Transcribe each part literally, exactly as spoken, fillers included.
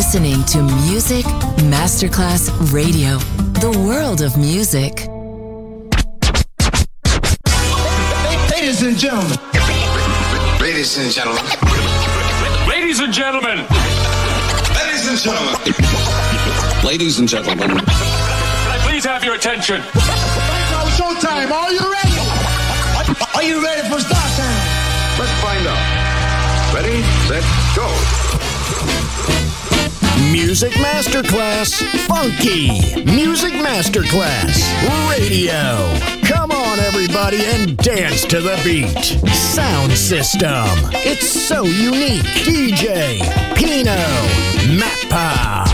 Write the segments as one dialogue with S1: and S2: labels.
S1: listening to Music Masterclass Radio, the world of music.
S2: Ladies and gentlemen.
S3: Ladies and gentlemen.
S4: Ladies and gentlemen.
S3: Ladies and gentlemen. Ladies and gentlemen.
S4: Can I please have your attention?
S2: Now showtime. Are you ready? Are you ready for start time?
S3: Let's find out. Ready, set, go.
S5: Music Masterclass Funky. Music Masterclass Radio. Come on, everybody, and dance to the beat. Sound system. It's so unique. D J Pino Mappa.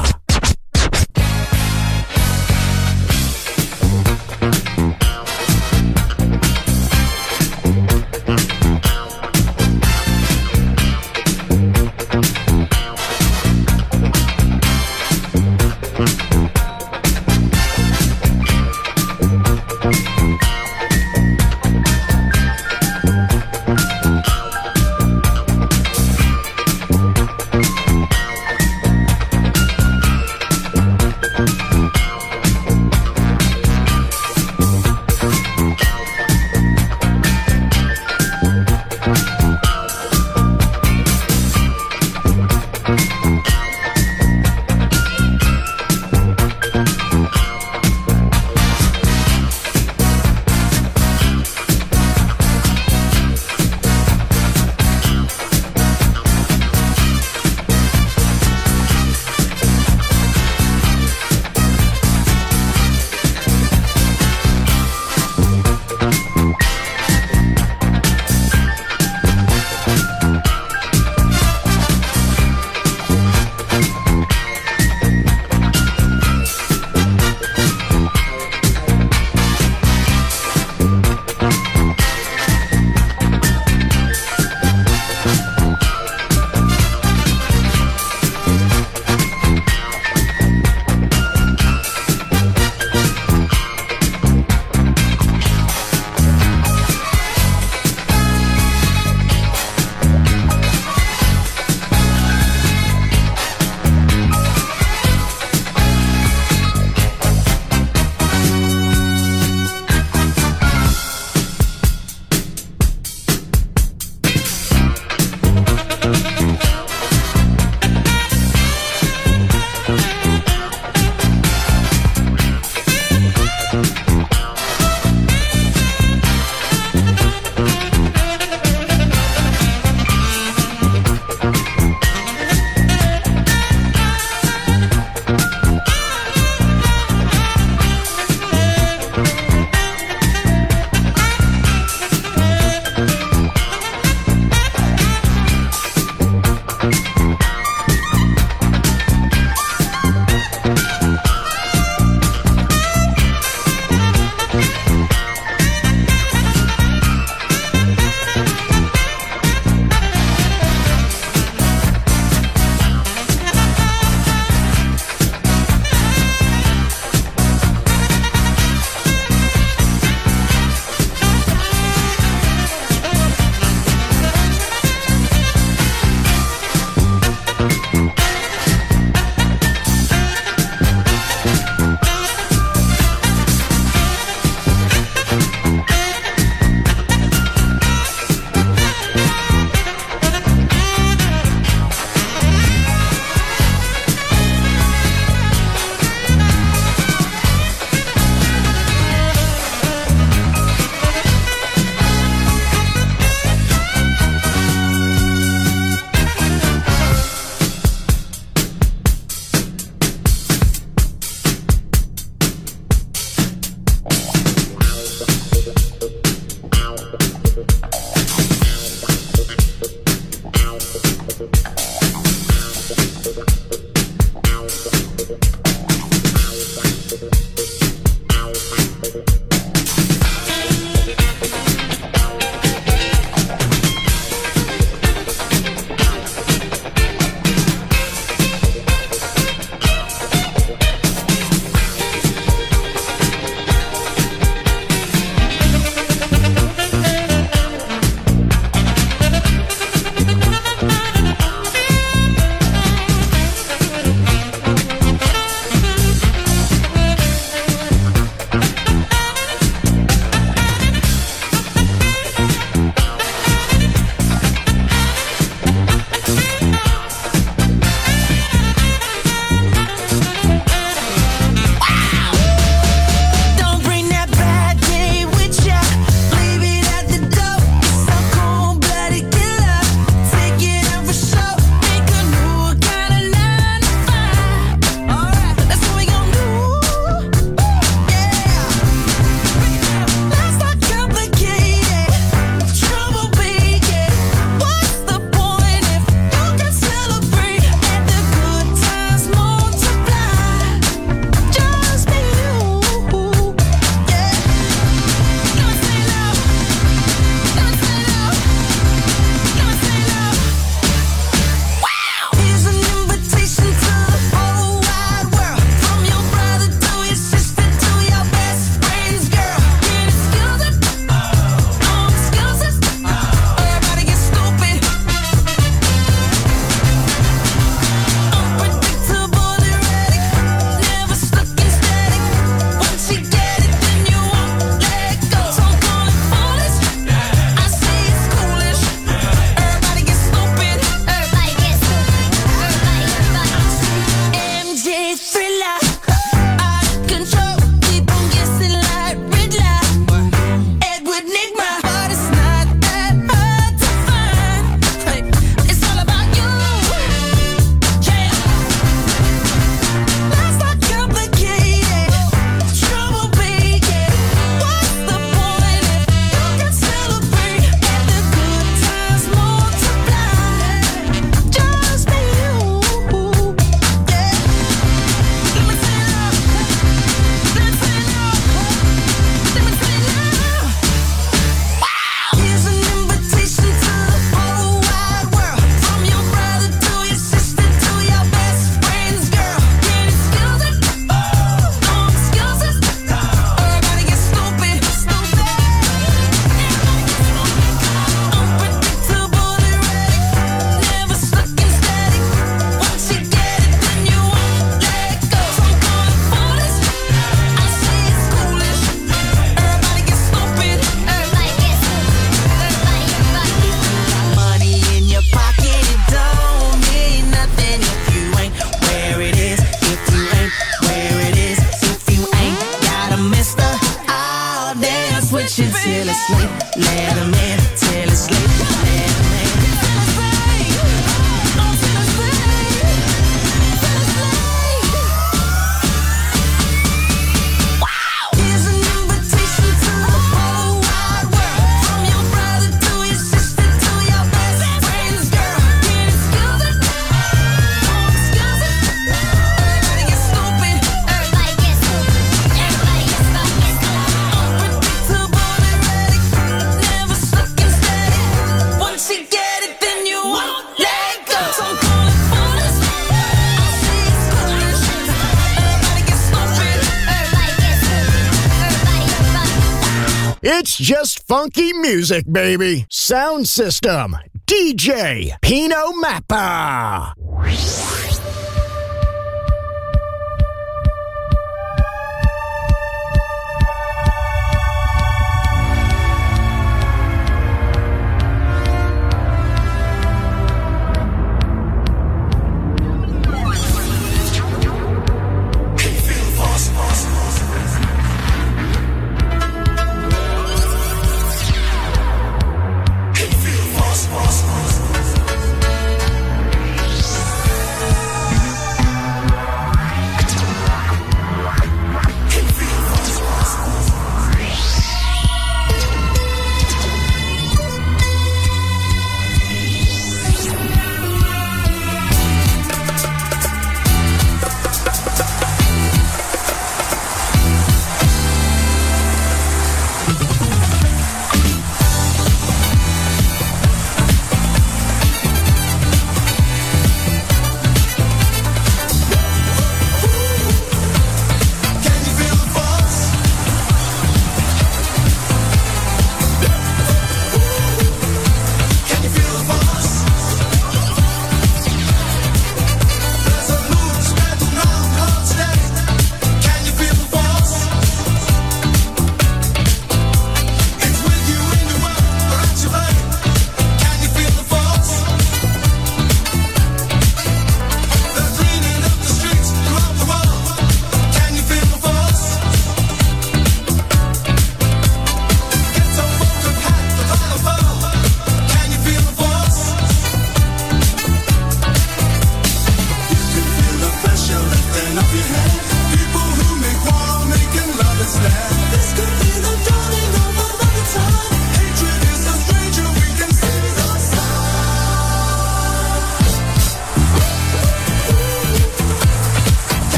S5: It's just funky music, baby. Sound system, D J Pino Mappa.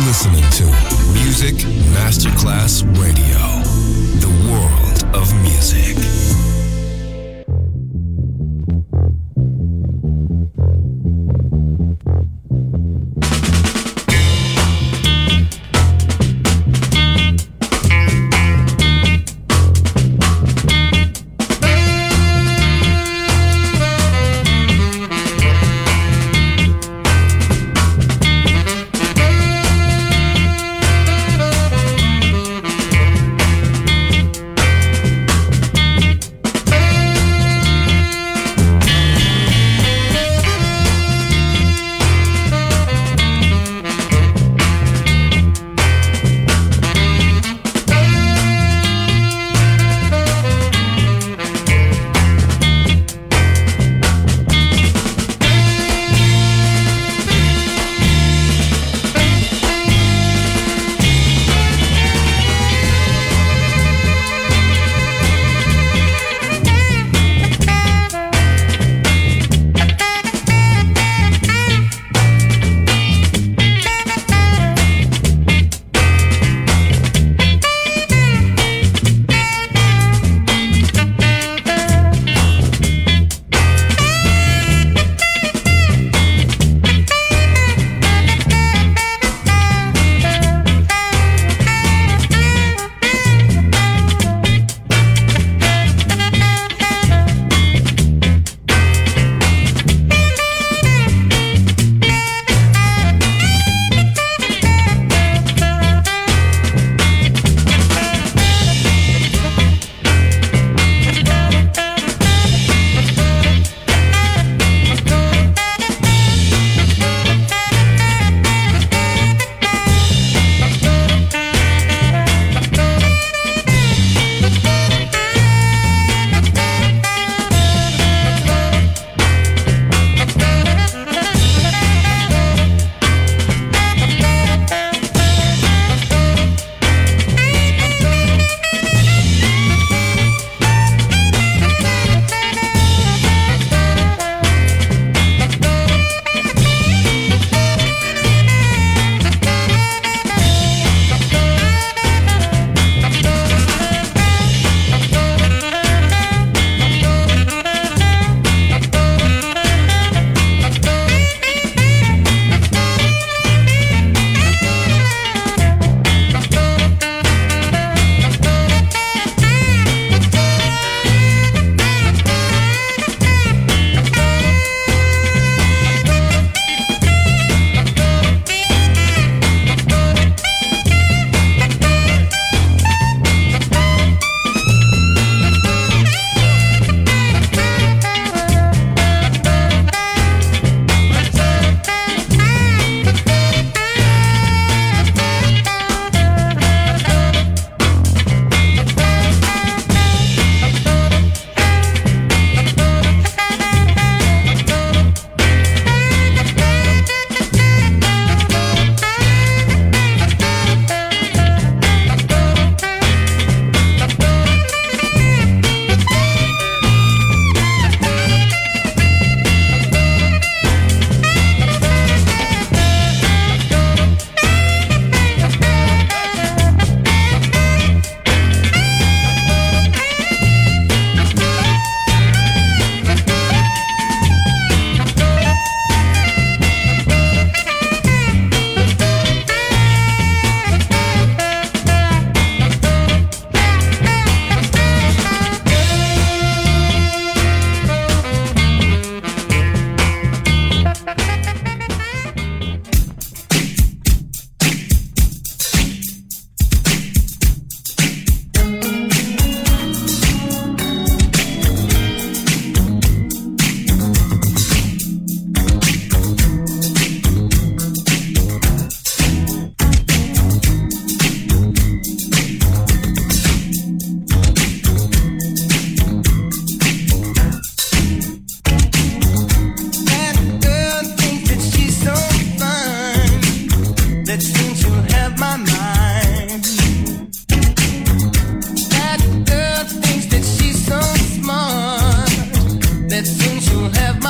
S6: listening to Music Masterclass Radio, the world of music.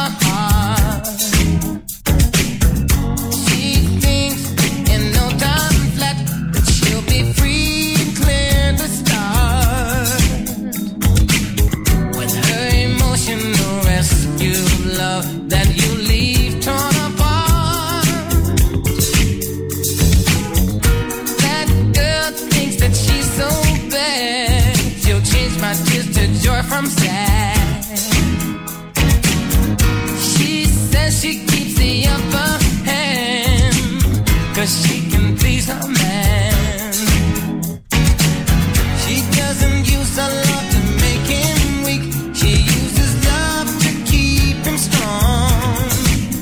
S7: She thinks in no time I'm sad. She says she keeps the upper hand, 'cause she can please her man. She doesn't use her love to make him weak. She uses love to keep him strong.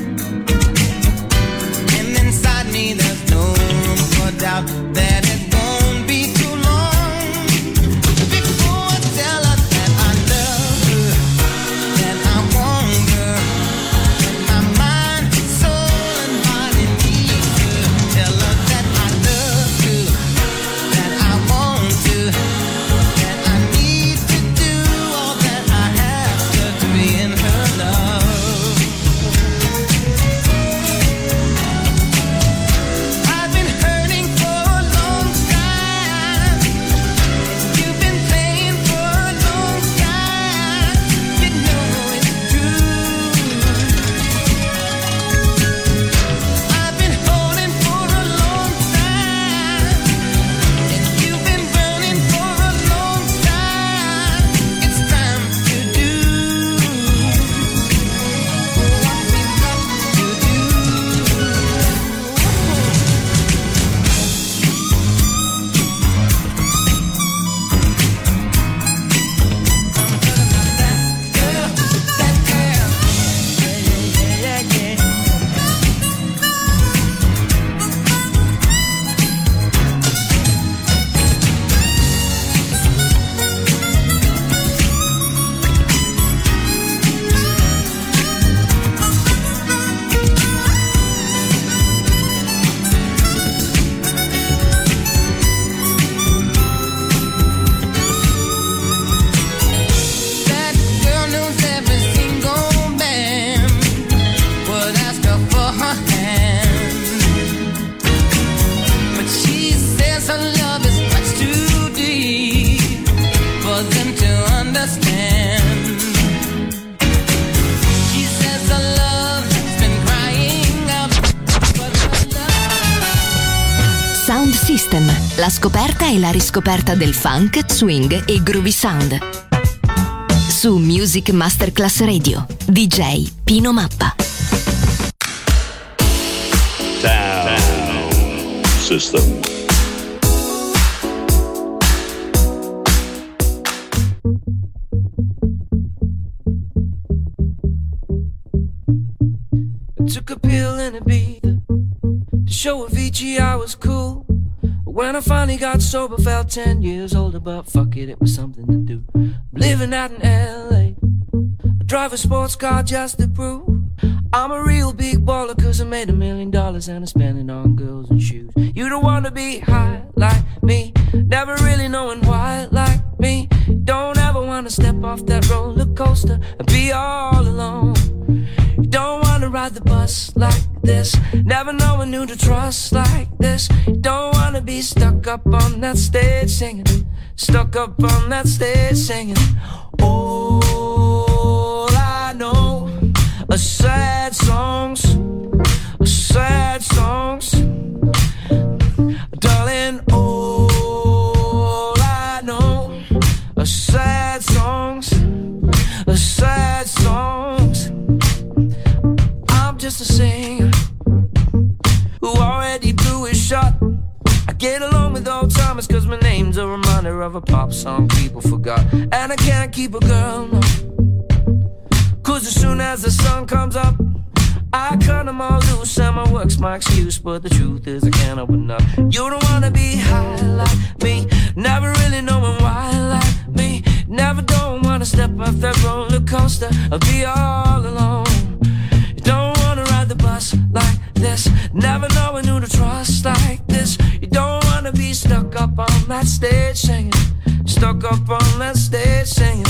S7: And inside me there's no room for doubt that it won't be too long before I tell her that I love her, that I want her, that my mind, soul and body need her. Tell her that I love her, that I want her, that I need to do all that I have to, to be in her love. I've been hurting for a long time. You've been playing for a long time. You know it's true. I've been holding for a long time. You've been burning for a long time. It's time to do what we've got to do. Girl, that girl, yeah, yeah, yeah, yeah. That girl knows every single man would ask her for her hand, but she says her love is much too deep for them to understand. She says her love has been crying out for her love.
S1: Sound System, la scoperta e la riscoperta del funk, swing e groovy sound. Su Music Masterclass Radio, D J Pino Mappa.
S3: Sound system.
S7: I took a pill in Ibiza to show Avicii I was cool. When I finally got sober, felt ten years older, but fuck it, it was something to do. I'm living out in L A, I drive a sports car just to prove I'm a real big baller, 'cause I made a million dollars and I spent it on girls and shoes. You don't wanna be high like me, never really knowing why like me. Don't ever wanna step off that roller coaster and be all alone. You don't wanna ride the bus like this, never knowing who to trust like this. You don't wanna be stuck up on that stage singing, stuck up on that stage singing. All I know are sad songs, sad songs, darling. All I know are sad songs, sad songs. I'm just a singer who already blew his shot. I get along with old timers 'cause my name's a reminder of a pop song people forgot. And I can't keep a girl, no, 'cause as soon as the sun comes up, I cut them all loose and my work's my excuse. But the truth is I can't open up. You don't wanna be high like me, never really knowing why like me. Never don't wanna step off that roller coaster or be all alone. You don't wanna ride the bus like this, never knowing who to trust like this. You don't wanna be stuck up on that stage singing, stuck up on that stage singing.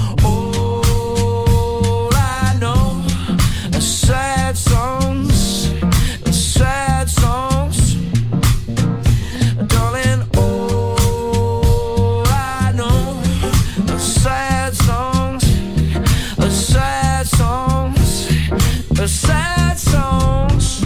S7: All I know are sad songs, sad songs, darling. All I know are sad songs, sad songs, sad songs.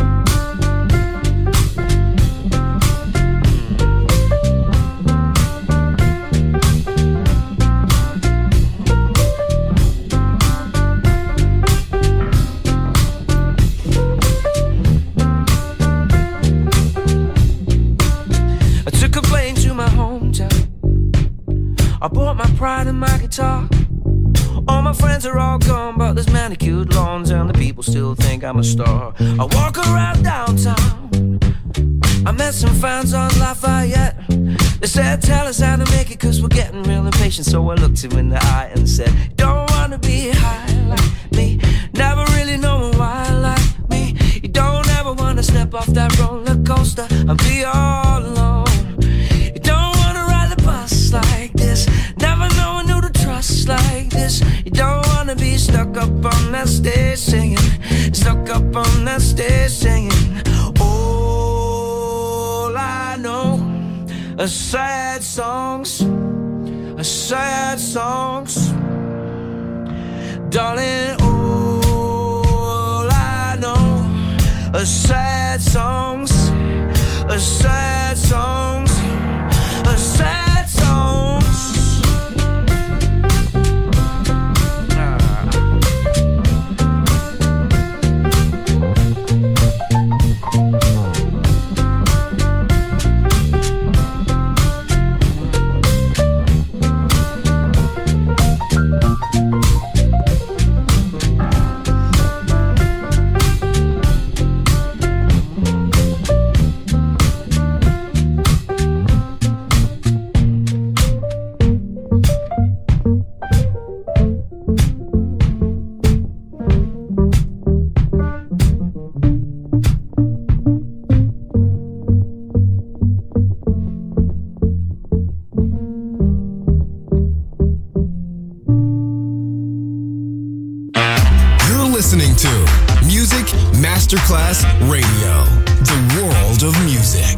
S7: I bought my pride and my guitar. All my friends are all gone, but there's manicured lawns and the people still think I'm a star. I walk around downtown, I met some fans on Lafayette. They said, tell us how to make it, cause we're getting real impatient. So I looked him in the eye and said, don't wanna be high like me, never really knowing why like me. You don't ever wanna step off that roller coaster and be all alone. You don't wanna ride the bus like this, never knowing who to trust like this. You don't wanna be stuck up on that stage singing, stuck up on that stage singing. All I know are sad songs, are sad songs. Darling, all I know are sad songs, are sad songs, are sad songs.
S6: Masterclass Radio, the world of music.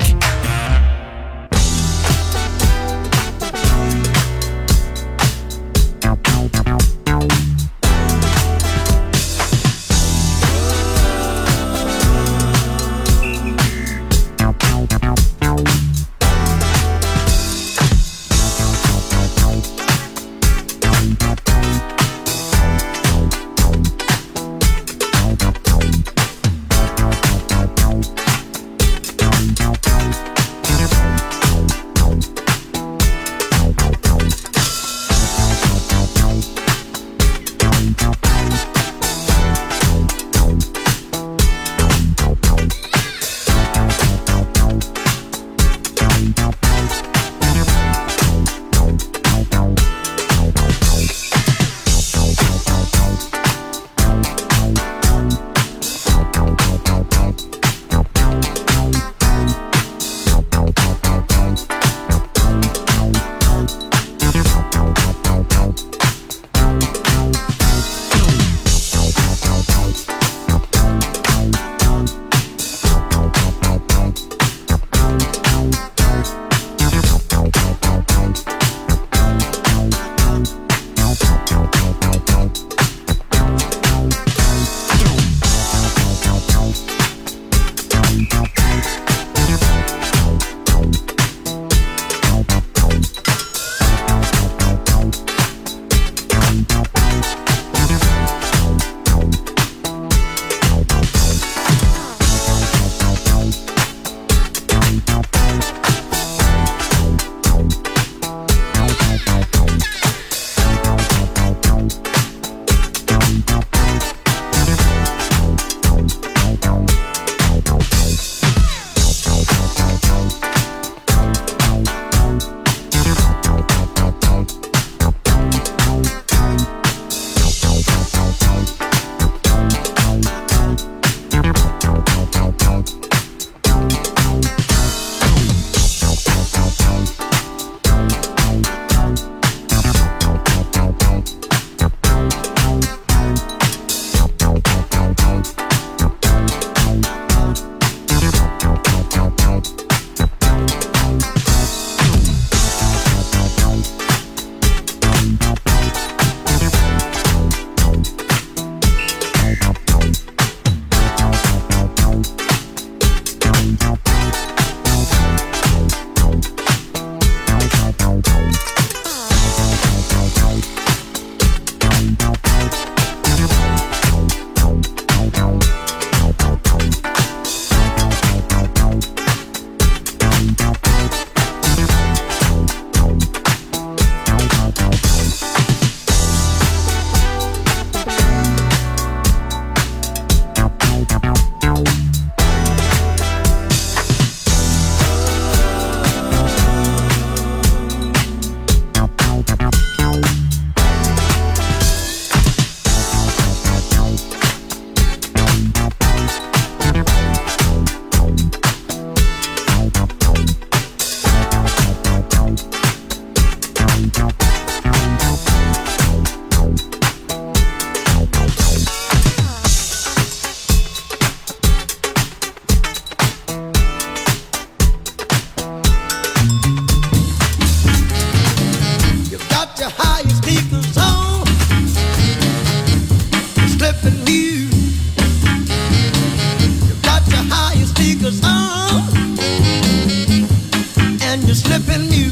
S7: flipping you.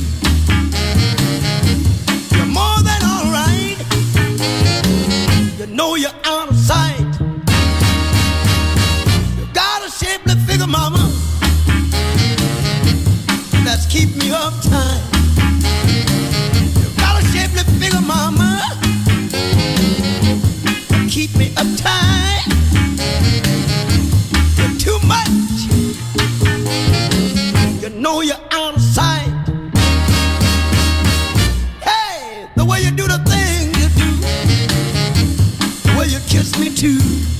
S7: You're more than alright. You know you're out of sight. You got a shapely figure, mama, that's keep me uptight. You got a shapely figure, mama, keep me uptight. You're too much. You know you're out of sight. Hey, the way you do the thing you do, the way you kiss me too,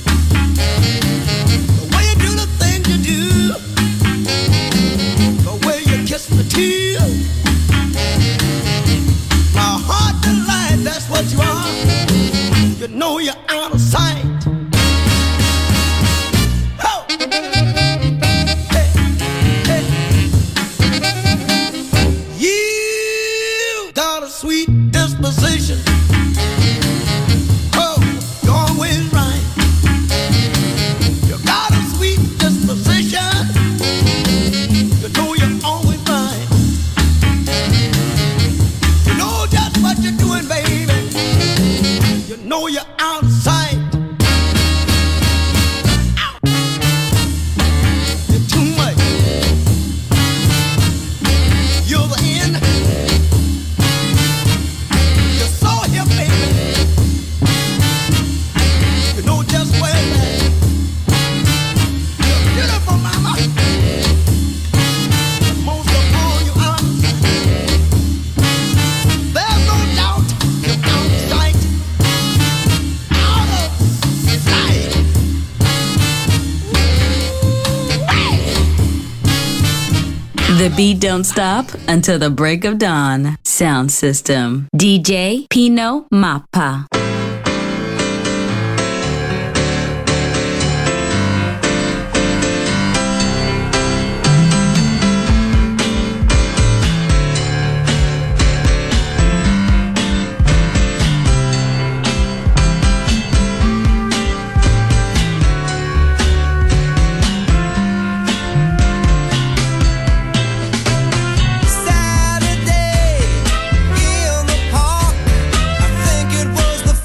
S7: the way you do the thing you do, the way you kiss me too. My heart delight, that's what you are. You know you're out of sight. Oh. Hey, hey. You got a sweet disposition. Oh, you're always right. You got a sweet disposition. You know you're always right. You know just what you're doing, baby. You know you're out of sight. Ow. You're too much. You're the end. You're so here, baby. You know just where it's at. You're beautiful, mama. Most of all, you're out of sight. There's no doubt you're out of sight. Out of sight.
S8: The beat don't stop until the break of dawn. Sound system. D J Pino Mappa.
S7: Saturday in the park, I think it was the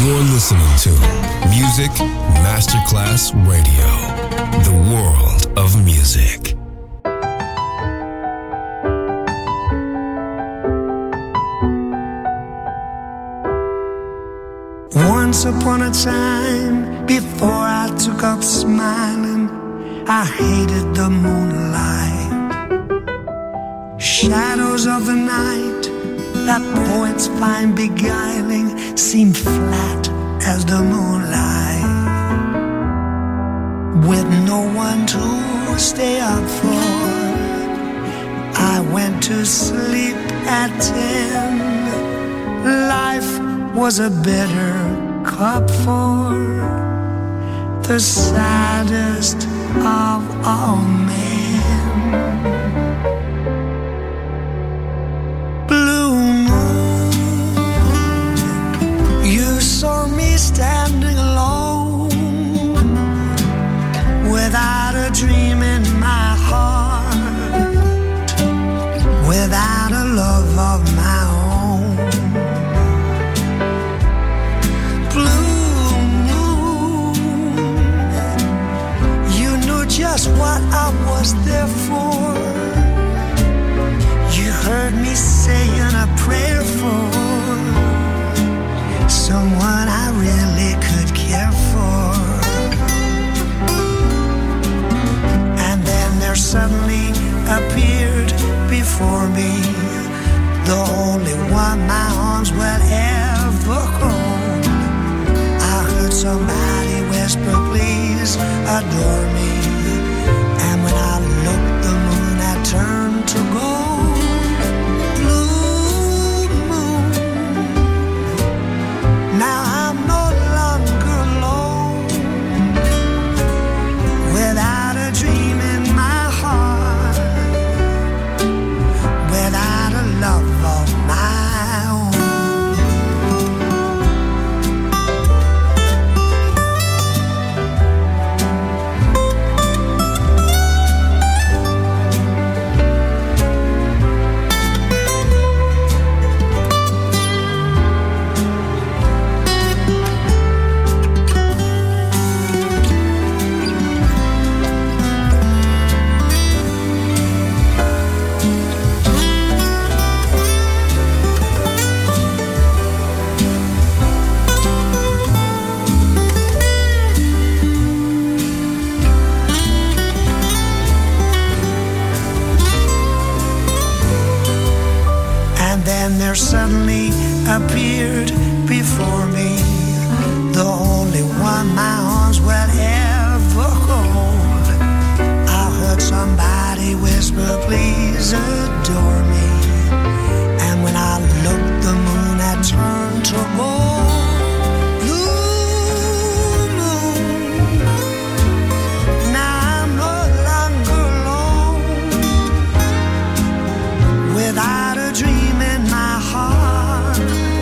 S6: You're listening to Music Masterclass Radio, the world of music.
S9: Once upon a time, before I took up smiling, I hated the moonlight. Shadows of the night that poets find beguiling seem flat as the moonlight, with no one to stay up for. I went to sleep at ten. Life was a bitter cup for the saddest of all men. Blue moon, you saw me standing alone, without a dream in my heart, without a love of my own. Just what I was there for. You heard me saying a prayer for someone I really could care for. And then there suddenly appeared before me the only one my arms will ever hold. I heard somebody whisper, please adore me. And when I looked, the moon had turned to gold. Blue moon, now I'm no longer alone, without a dream in my heart, without a love of my own. There suddenly appeared before me the only one my arms will ever hold. I heard somebody whisper, please adore me. And when I looked, the moon had turned to gold. Blue moon, now I'm no longer alone, without a dream in my heart,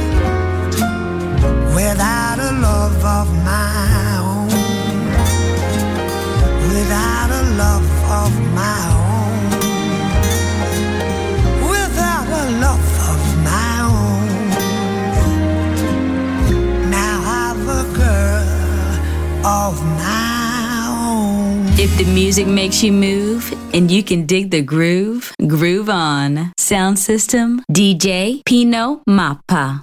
S9: without a love of my own, without a love of my own, without a love of my own. Now I've a girl of my own.
S8: If the music makes you move and you can dig the groove, groove on. Sound system, D J Pino Mappa.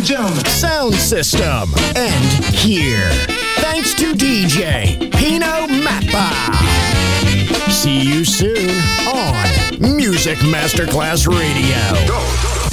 S2: and gentlemen,
S5: sound system, and here. Thanks to D J Pino Mappa. See you soon on Music Masterclass Radio.
S3: Go.